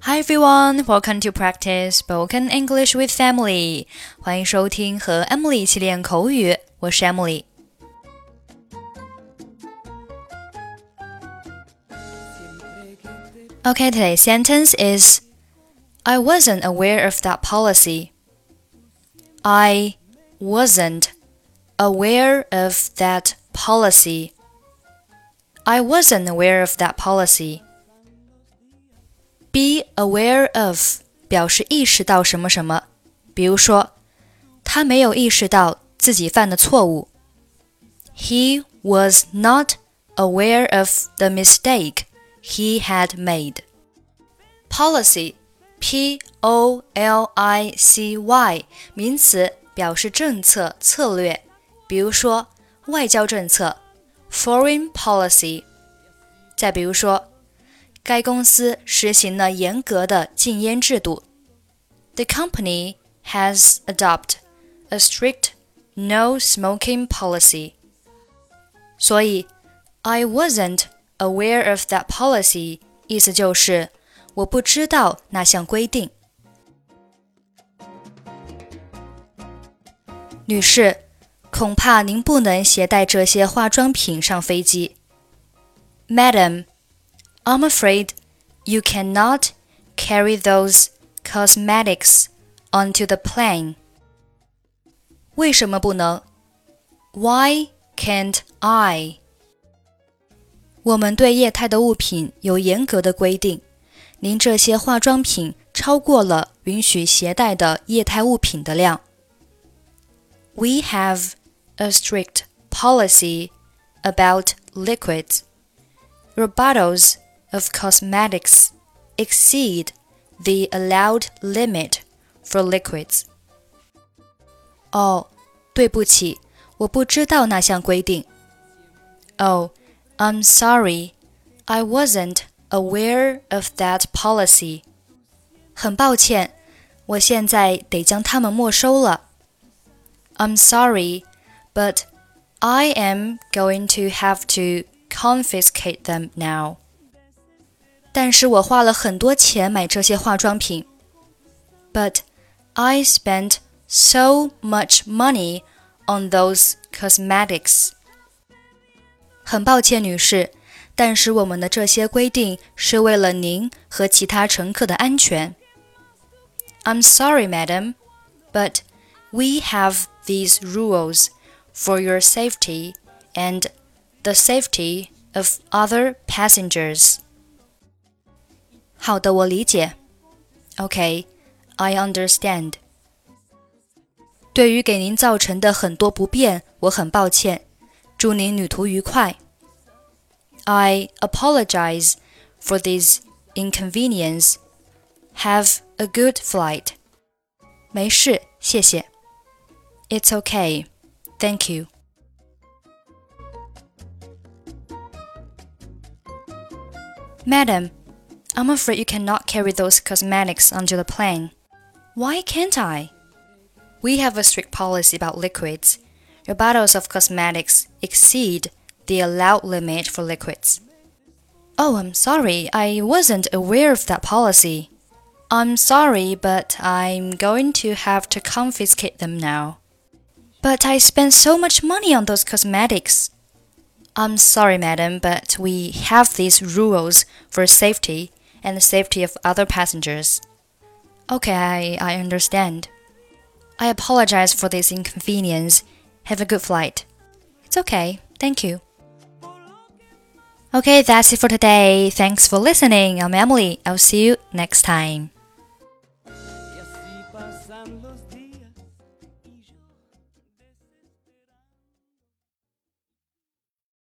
Hi everyone, welcome to practice spoken English with Emily. 欢迎收听和 Emily 一起练口语，我是 Emily。Okay, today's sentence is I wasn't aware of that policy. I wasn't aware of that policy. I wasn't aware of that policy.Be aware of 表示意识到什么什么，比如说，他没有意识到自己犯的错误。He was not aware of the mistake he had made. Policy, P-O-L-I-C-Y 名词，表示政策、策略，比如说外交政策 Foreign policy. 再比如说该公司实行了严格的禁烟制度。The company has adopted a strict no smoking policy. 所以 I wasn't aware of that policy 意思就是我不知道那项规定。女士，恐怕您不能携带这些化妆品上飞机。Madam,I'm afraid you cannot carry those cosmetics onto the plane. 为什么不能 Why can't I? 我们对液态的物品有严格的规定，您这些化妆品超过了允许携带的液态物品的量。We have a strict policy about liquids. Your bottles.of cosmetics exceed the allowed limit for liquids. 哦，对不起，我不知道那项规定。Oh, I'm sorry, I wasn't aware of that policy. 很抱歉，我现在得将它们没收了。I'm sorry, but I am going to have to confiscate them now.但是我花了很多钱买这些化妆品。But I spent so much money on those cosmetics. 很抱歉，女士，但是我们的这些规定是为了您和其他乘客的安全。I'm sorry, madam, but we have these rules for your safety and the safety of other passengers.好的，我理解。Okay, I understand. 对于给您造成的很多不便，我很抱歉。祝您旅途愉快。I apologize for this inconvenience. Have a good flight. 没事，谢谢。It's okay. Thank you. Madam,I'm afraid you cannot carry those cosmetics onto the plane. Why can't I? We have a strict policy about liquids. Your bottles of cosmetics exceed the allowed limit for liquids. Oh, I'm sorry, I wasn't aware of that policy. I'm sorry, but I'm going to have to confiscate them now. But I spent so much money on those cosmetics.I'm sorry, madam, but we have these rules for safety and the safety of other passengers. Okay, I understand. I apologize for this inconvenience. Have a good flight. It's okay. Thank you. Okay, that's it for today. Thanks for listening. I'm Emily. I'll see you next time.